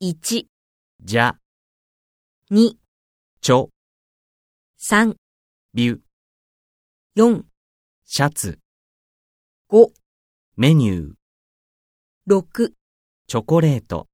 1、 じゃ、 2、 ちょ、 3、 びゅ、 4、 シャツ、 5、 メニュー、 6、 チョコレート。